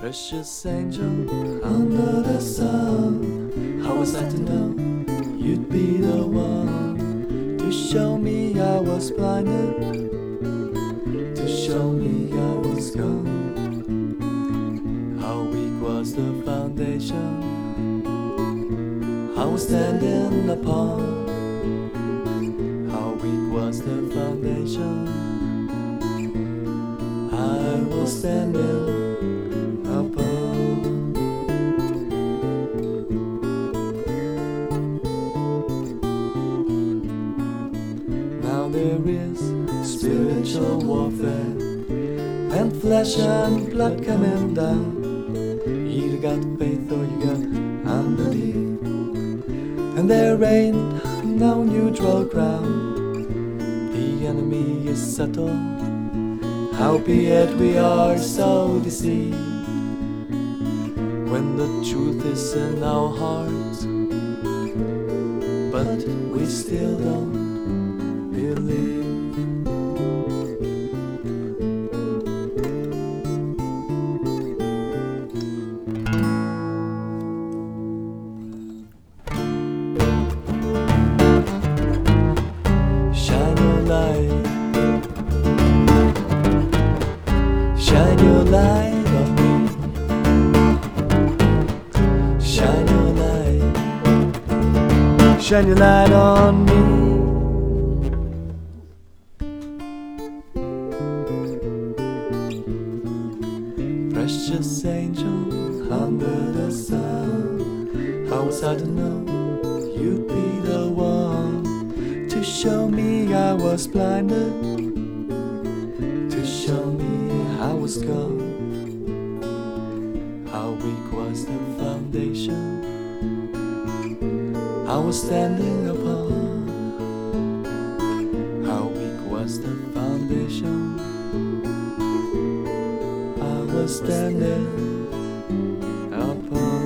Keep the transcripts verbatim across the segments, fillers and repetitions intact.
Precious angel under the sun, how was I to know you'd be the one to show me I was blinded, to show me I was gone. How weak was the foundation I was standing upon. How weak was the foundation I was standing upon. Now there is spiritual warfare and flesh and blood coming down. You got faith or you got unbelief, and there ain't no neutral ground. The enemy is subtle, howbeit we are so deceived. When the truth is in our hearts, but we still don't believe. Shine your light, shine your light on me. Shine your light, shine your light on me. Precious angel under the sun, how was I to know you'd be the one to show me I was blinded, to show me I was gone. How weak was the foundation I was standing upon. How weak was the foundation I was standing upon.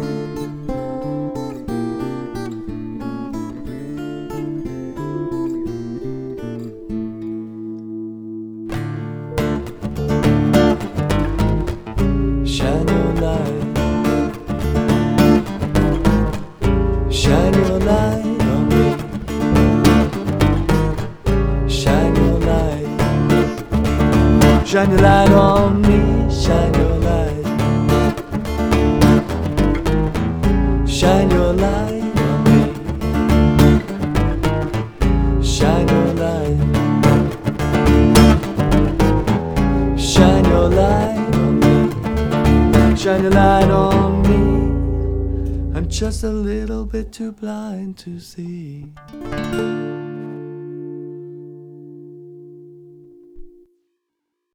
Shine your light, shine your light on me. Shine your light, shine your light on me. Shine your light, shine your light on me. Shine your light, shine your light on me. Shine your light on me. I'm just a little bit too blind to see.